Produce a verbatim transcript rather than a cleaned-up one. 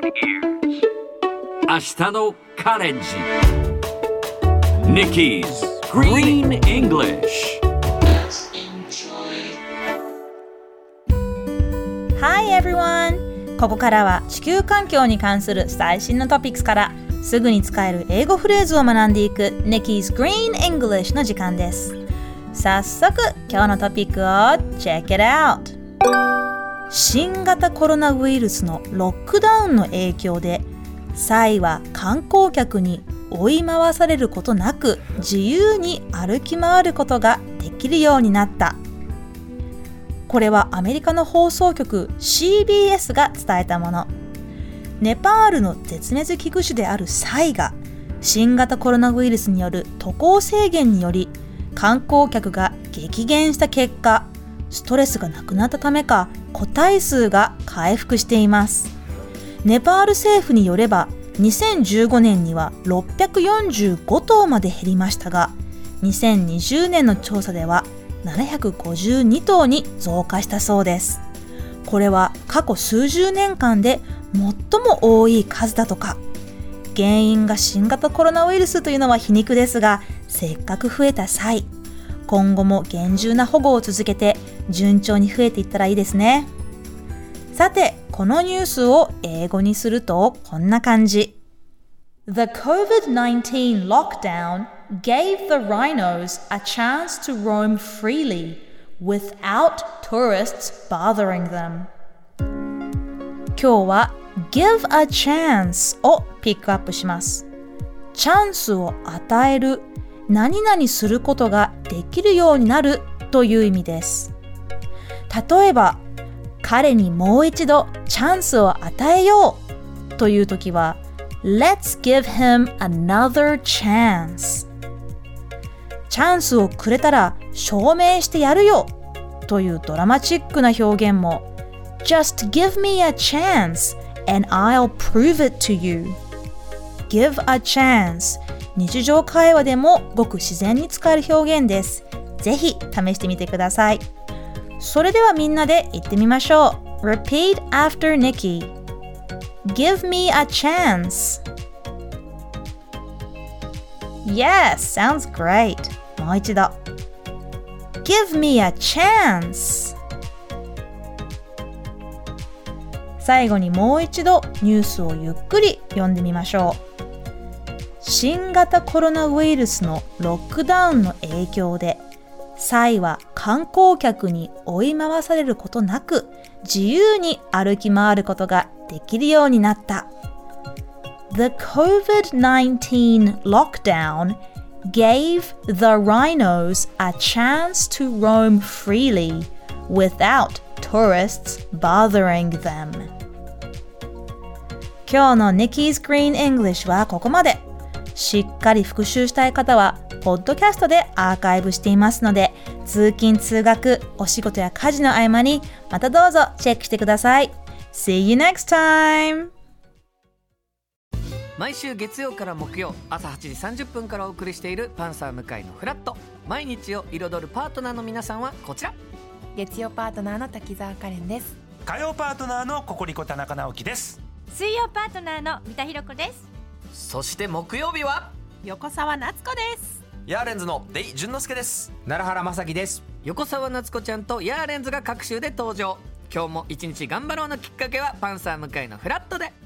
明日のカレンジ Nikki's Green English。 Hi everyone! ここからは地球環境に関する最新のトピックスからすぐに使える英語フレーズを学んでいく Nikki's Green English の時間です。早速今日のトピックを Check it out！ 新型コロナウイルスのロックダウンの影響でサイは観光客に追い回されることなく自由に歩き回ることができるようになった。これはアメリカの放送局 シービーエス が伝えたもの。ネパールの絶滅危惧種であるサイが新型コロナウイルスによる渡航制限により観光客が激減した結果、ストレスがなくなったためか個体数が回復しています。ネパール政府によればにせんじゅうごねんにはろっぴゃくよんじゅうごとうまで減りましたが、にせんにじゅうねんの調査ではななひゃくごじゅうにとうに増加したそうです。これは過去数十年間で最も多い数だとか。原因が新型コロナウイルスというのは皮肉ですが、せっかく増えた際、今後も厳重な保護を続けて順調に増えていったらいいですね。さて、このニュースを英語にするとこんな感じ。The コービドナインティーン lockdown gave the rhinos a chance to roam freely without tourists bothering them。 今日は give a chance をピックアップします。チャンスを与える、何々することができるようになるという意味です。例えば、彼にもう一度チャンスを与えようというときは Let's give him another chance。 チャンスをくれたら証明してやるよというドラマチックな表現も Just give me a chance and I'll prove it to you。 Give a chance、 日常会話でもごく自然に使える表現です。ぜひ試してみてください。それではみんなで言ってみましょう。 Repeat after Nikki。 Give me a chance。 Yes, sounds great。 もう一度 Give me a chance。 最後にもう一度ニュースをゆっくり読んでみましょう。新型コロナウイルスのロックダウンの影響でサイは観光客に追い回されることなく自由に歩き回ることができるようになった。 The コービドナインティーン lockdown gave the rhinos a chance to roam freely without tourists bothering them。 今日の Nikki's Green English はここまで。しっかり復習したい方はポッドキャストでアーカイブしていますので、通勤通学、お仕事や家事の合間にまたどうぞチェックしてください。 See you next time。 毎週月曜から木曜朝はちじさんじゅっぷんからお送りしているパンサー向井のフラット。毎日を彩るパートナーの皆さんはこちら。 月曜パートナーの滝沢カレンです。 火曜パートナーのココリコ田中直樹です。 水曜パートナーの三田寛子です。 そして木曜日は横澤夏子です。 ヤーレンズのデイ淳之介です。 奈良原正樹です。 横澤夏子ちゃんとヤーレンズが各週で登場。今日も一日頑張ろうのきっかけはパンサー向井のフラットで。